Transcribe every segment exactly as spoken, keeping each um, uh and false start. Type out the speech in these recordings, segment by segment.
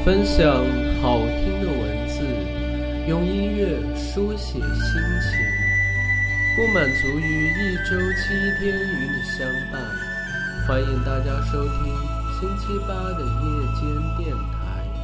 分享好听的文字，用音乐书写心情，不满足于一周七天与你相伴。欢迎大家收听星期八的夜间电台。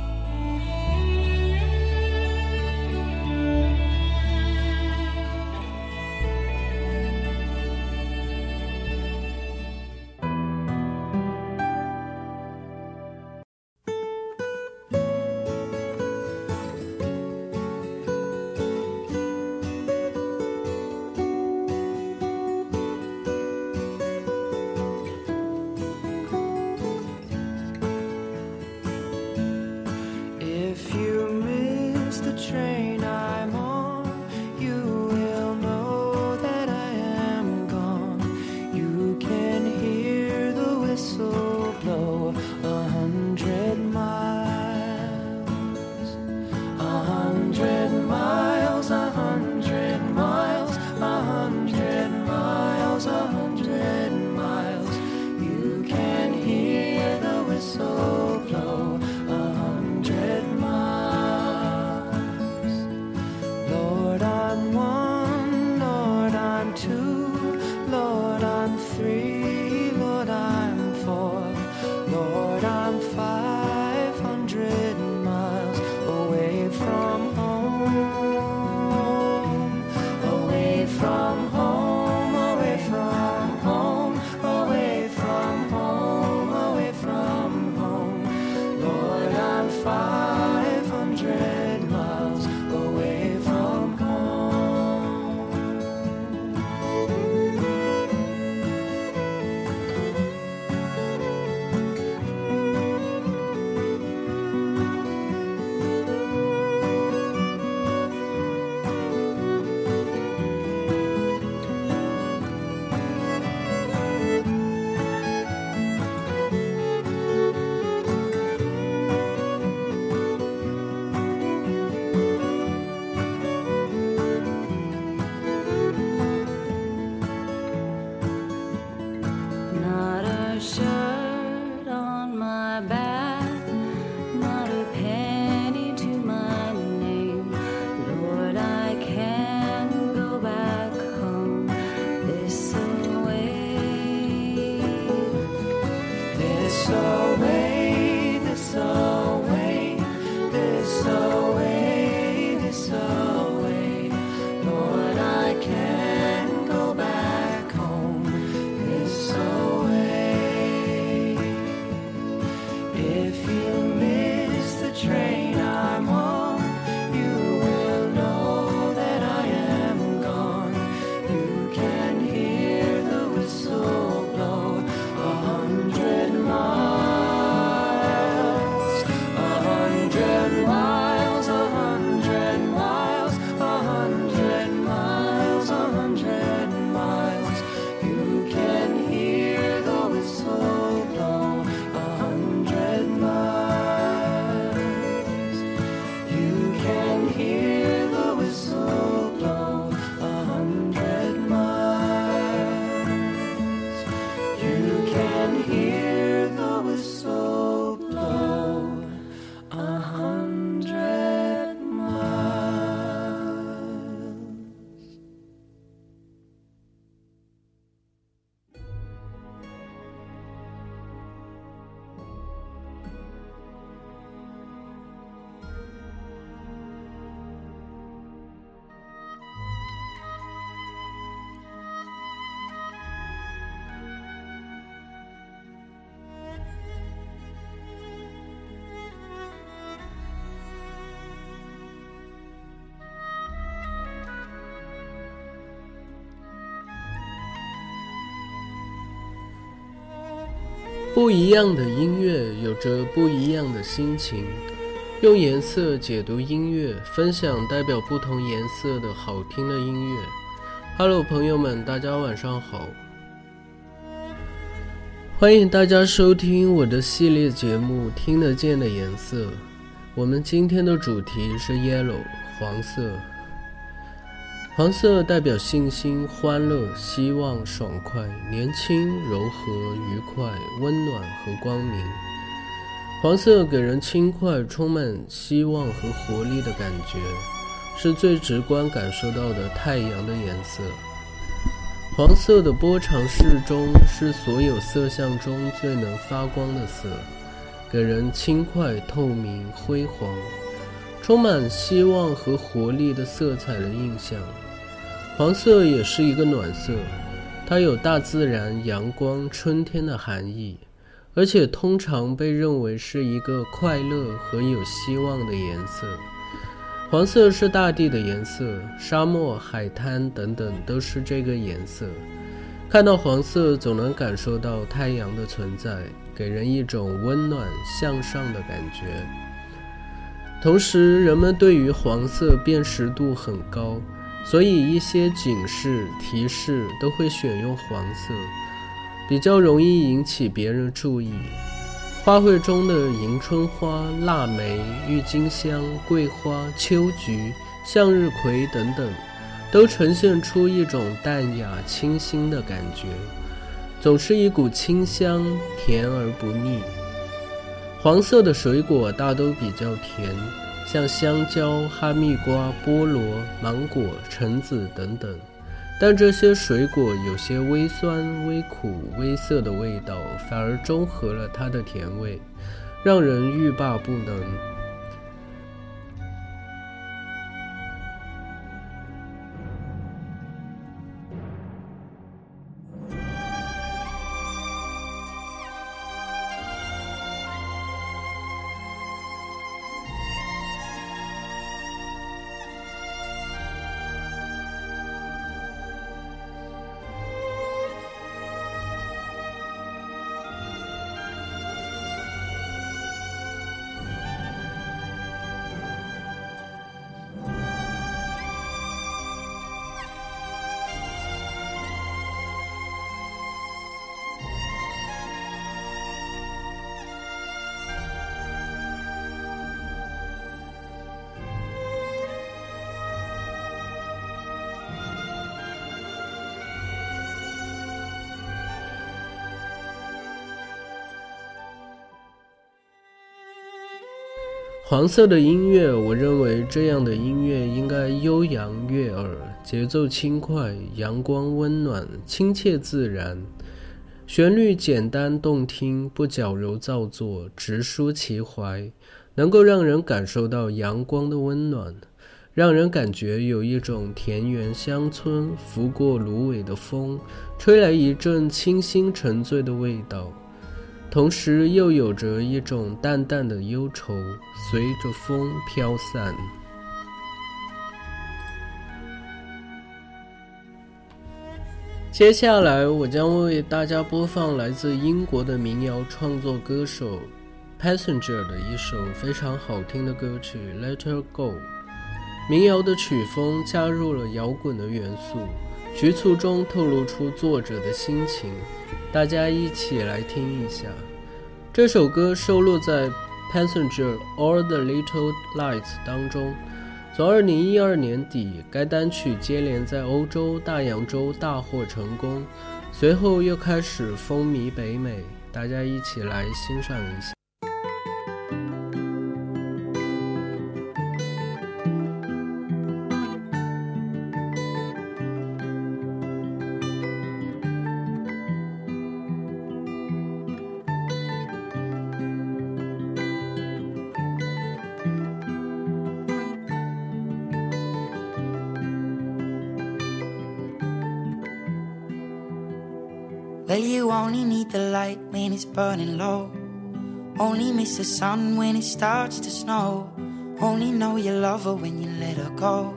不一样的音乐有着不一样的心情，用颜色解读音乐，分享代表不同颜色的好听的音乐。Hello， 朋友们，大家晚上好，欢迎大家收听我的系列节目《听得见的颜色》。我们今天的主题是 Yellow， 黄色。黄色代表信心、欢乐、希望、爽快、年轻、柔和、愉快、温暖和光明。 黄色给人轻快、充满希望和活力的感觉，是最直观感受到的太阳的颜色。黄色的波长适中，是所有色相中最能发光的色，给人轻快、透明、辉煌，充满希望和活力的色彩的印象。黄色也是一个暖色，它有大自然、阳光、春天的含义，而且通常被认为是一个快乐和有希望的颜色。黄色是大地的颜色，沙漠、海滩等等都是这个颜色。看到黄色总能感受到太阳的存在，给人一种温暖向上的感觉。同时人们对于黄色辨识度很高，所以一些警示提示都会选用黄色，比较容易引起别人注意。花卉中的迎春花、腊梅、郁金香、桂花、秋菊、向日葵等等，都呈现出一种淡雅清新的感觉，总是一股清香，甜而不腻。黄色的水果大都比较甜，像香蕉、哈密瓜、菠萝、芒果、橙子等等，但这些水果有些微酸、微苦、微涩的味道，反而中和了它的甜味，让人欲罢不能。黄色的音乐，我认为这样的音乐应该悠扬悦耳，节奏轻快，阳光温暖，亲切自然，旋律简单动听，不矫揉造作，直抒其怀，能够让人感受到阳光的温暖，让人感觉有一种田园乡村拂过芦苇的风，吹来一阵清新沉醉的味道，同时又有着一种淡淡的忧愁，随着风飘散。接下来我将为大家播放来自英国的民谣创作歌手 Passenger 的一首非常好听的歌曲 Let Her Go。 民谣的曲风加入了摇滚的元素，局促中透露出作者的心情，大家一起来听一下。这首歌收录在 Passenger All the Little Lights 当中。从二零一二年底，该单曲接连在欧洲、大洋洲大获成功，随后又开始风靡北美，大家一起来欣赏一下。 Well, you only need the light when it's burning low. Only miss the sun when it starts to snow. Only know you love her when you let her go.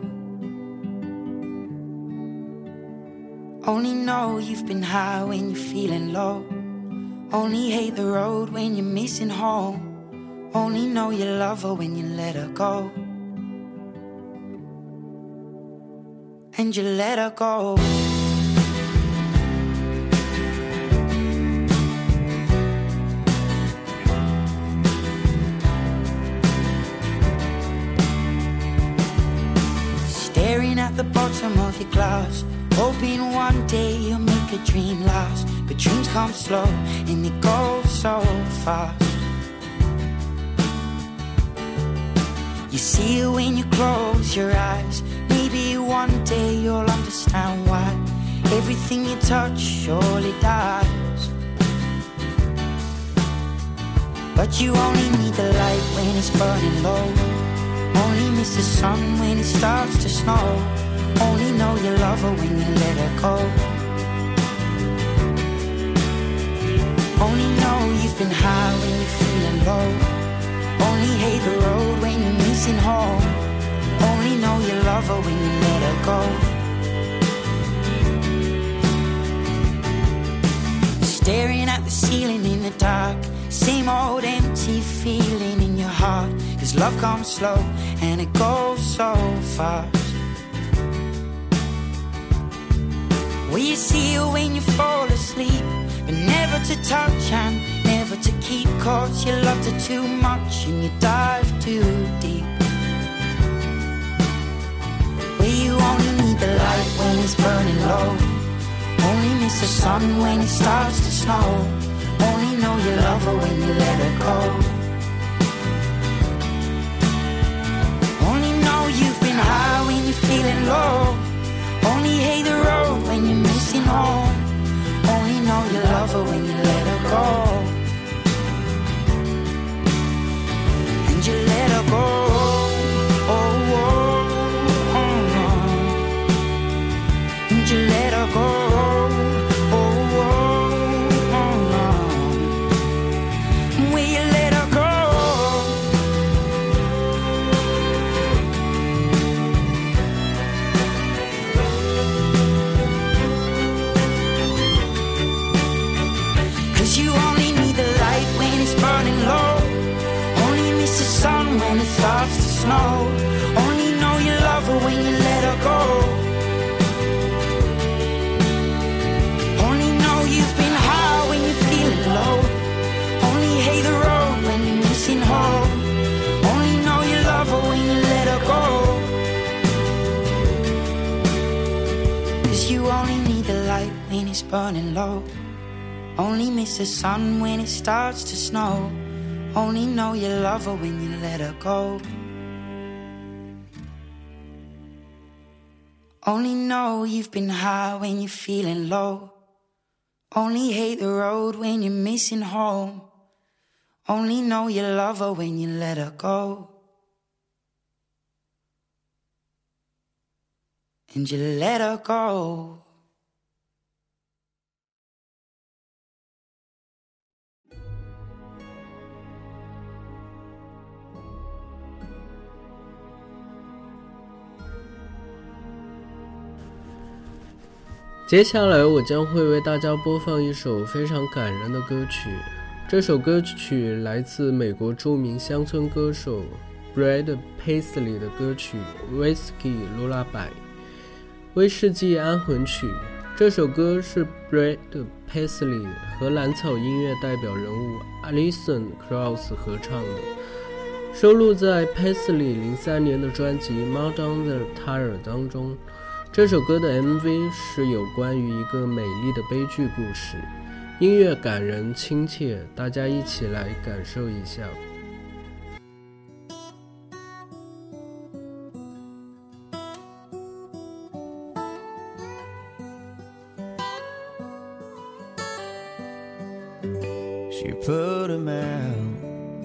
Only know you've been high when you're feeling low. Only hate the road when you're missing home. Only know you love her when you let her go. And you let her go. At the bottom of your glass, hoping one day you'll make a dream last. But dreams come slow and they go so fast. You see it when you close your eyes. Maybe one day you'll understand why everything you touch surely dies. But you only need the light when it's burning low. Only miss the sun when it starts to snow. Only know you love her when you let her go. Only know you've been high when you're feeling low. Only hate the road when you're missing home. Only know you love her when you let her go. Staring at the ceiling in the dark, same old empty feeling in your heart. Cause love comes slow and it goes so fast. Will you see her when you fall asleep, but never to touch and never to keep? Cause you loved her too much and you dive too deep. Where you only need the light when it's burning low. Only miss the sun when it starts to snow. Only know you love her when you let her go. Only know you've been high when you're feeling low. Only hate the road when you're missing home. Only know you love her when you let her go. And you let her go. Oh, oh, oh, oh. And you let her go. Starts to snow. Only know you love her when you let her go. Only know you've been high when you're feeling low. Only hate the road when you're missing home. Only know you love her when you let her go. Cause you only need the light when it's burning low. Only miss the sun when it starts to snow. Only know you love her when you let her go. Only know you've been high when you're feeling low. Only hate the road when you're missing home. Only know you love her when you let her go. And you let her go. 接下来我将会为大家播放一首非常感人的歌曲，这首歌曲来自美国著名乡村歌手 Brad Paisley 的歌曲 Whiskey Lullaby 威士忌安魂曲。这首歌是 Brad Paisley 和蓝草音乐代表人物 Alison Krauss 合唱的，收录在 Paisley 零三年的专辑 Mud on the Tire 当中。这首歌的 M V 是有关于一个美丽的悲剧故事，音乐感人亲切，大家一起来感受一下。 She put him out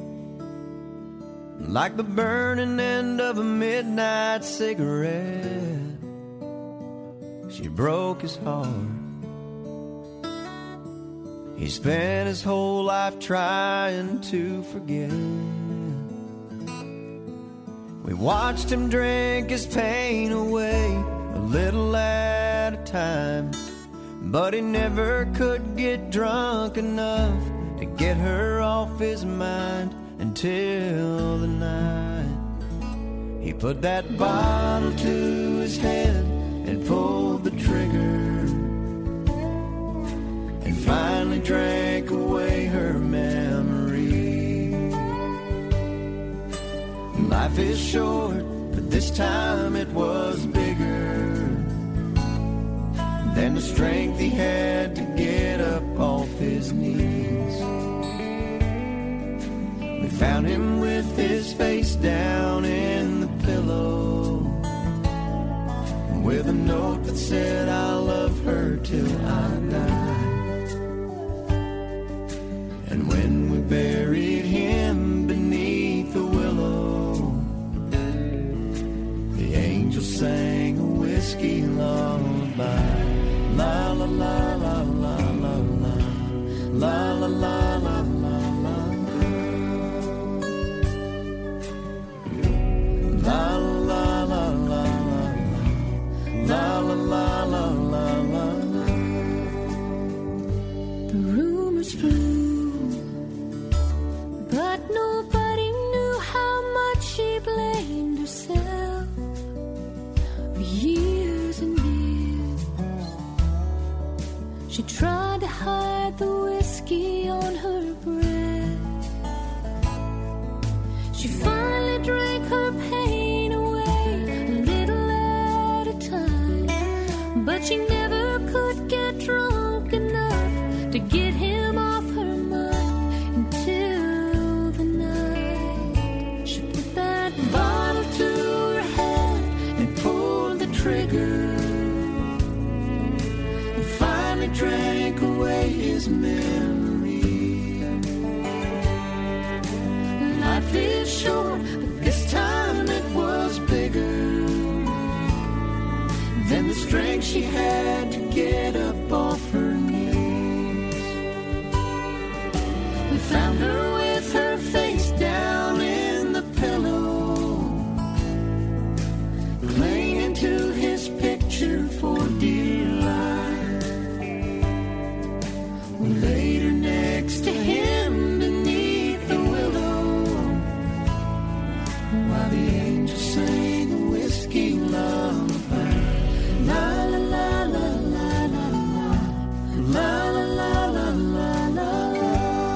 like the burning end of a midnight cigarette. She broke his heart. He spent his whole life trying to forget. We watched him drink his pain away a little at a time, but he never could get drunk enough to get her off his mind until the night he put that bottle to his head and pulled the trigger, and finally drank away her memory. Life is short, but this time it was bigger than the strength he had to get up off his knees. We found him with his face down in said I'll love her till I die. And when we buried him beneath the willow, the angel sang a whiskey lullaby. La la la la la la la, la la la la la la, la la la la la, la la la la la la. The rumors flew, but nobody knew how much she blamed herself for years and years. She tried to hide the whiskey on her breath. She finally drank her pain away a little at a time, but she never could get drunk enough to get him off her mind until the night she put that bottle to her head and pulled the trigger, and finally drank away his memory. Life is short, but this time it was bigger than the strength she had to get up off her knees. We found her with her face down in the pillow, clinging to his picture for dear life. We laid her next to him beneath the willow, while the angel sang a whiskey lullaby. La la la la la la la, la la la la la la la.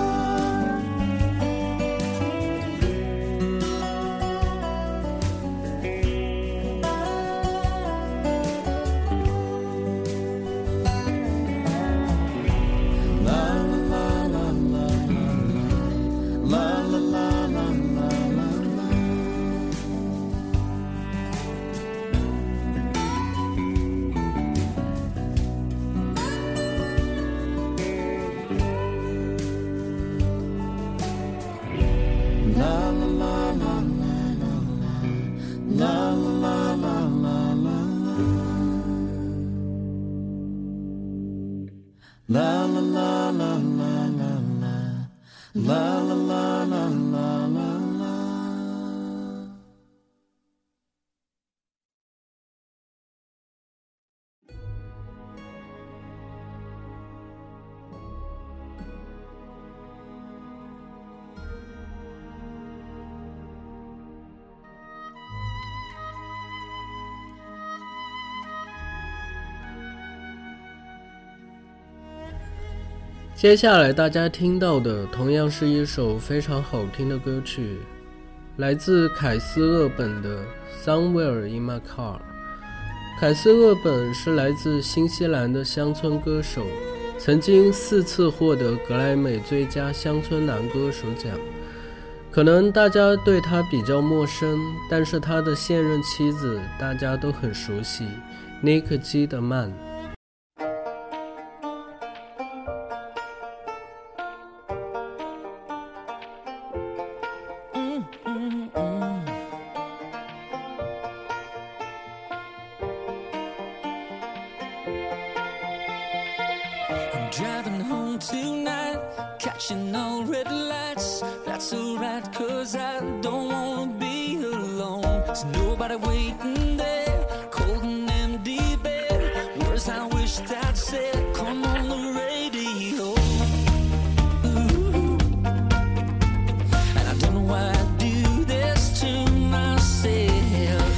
La la la la la la la, la la la la la la la. 接下来大家听到的同样是一首非常好听的歌曲，来自凯斯勒本的 Somewhere in My Car。 凯斯勒本是来自新西兰的乡村歌手，曾经四次获得格莱美最佳乡村男歌手奖。可能大家对他比较陌生，但是他的现任妻子大家都很熟悉，尼克基德曼。 Driving home tonight, catching all red lights. That's alright, cause I don't wanna be alone. There's nobody waiting there, cold and empty bed. Words I wished I'd said, come on the radio. Ooh. And I don't know why I do this to myself.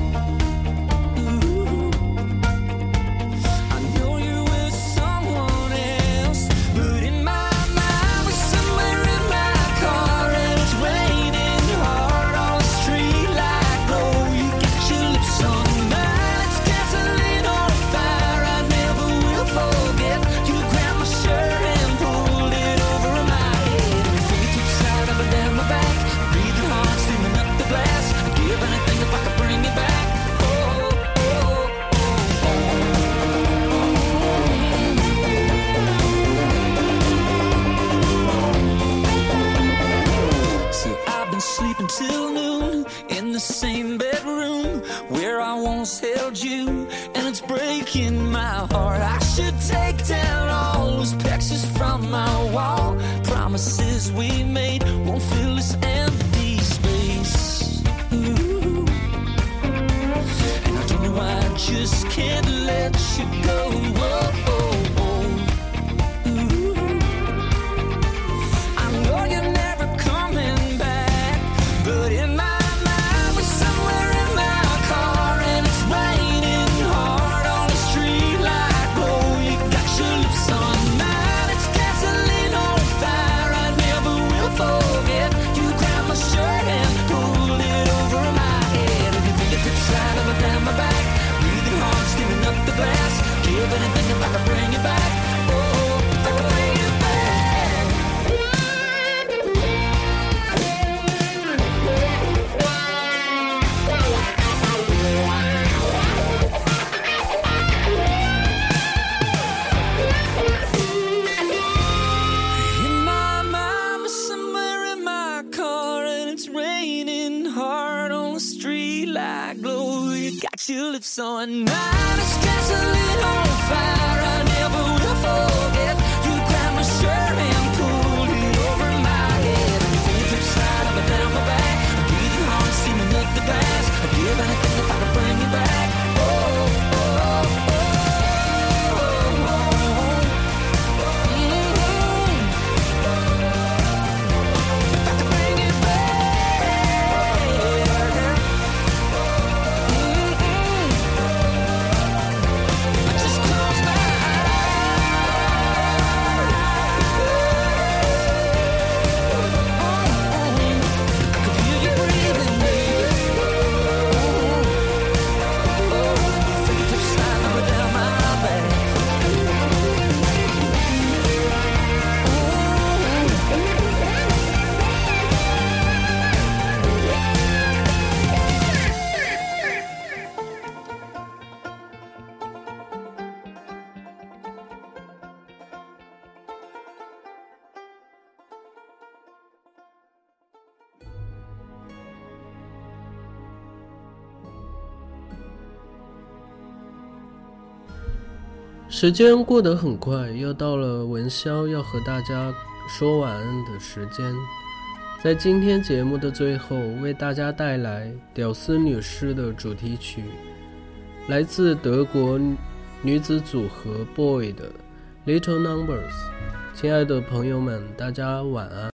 Ooh. I know you're with someone else, but in my mind we're somewhere in my car, and it's raining hard on the street like glow. You got your lips on mine, it's gasoline on fire. I never will forget you. heart. I should take down all those pictures from my wall. Promises we made won't fill this empty space. Ooh. And I don't know why I just can't let you go. Whoa, whoa, whoa. Ooh. I know you're never coming back, but in my mind we're somewhere in my car, and it's raining hard on the street like glow. You got your lips on mine, it's gasoline on fire. I never will forget. You grabbed my shirt and pulled it over my head, and your fingertips right up and down my back, breathing hard, skimming up the glass. Give anything if I could bring you back. Oh, if I could bring you back. In my mind, we're somewhere in my car, and it's raining hard on the street like glow. You got your lips on mine, it's gasoline on fire. I never will forget. You grabbed my shirt and pulled it over my head, and your fingertips right up and down my back, breathing hard, steaming up the glass. I'd give anything if I could bring you back. Oh, oh, oh, oh, oh, oh. Mm-hmm. If I could bring you back. Mm-hmm. I just close my eyes. I could hear you breathing, baby. Fingertips sliding up and down my back. 时间过得很快，又到了文潇要和大家说晚安的时间。在今天节目的最后，为大家带来屌丝女士的主题曲，来自德国女子组合 Boy 的 Little Numbers。亲爱的朋友们，大家晚安。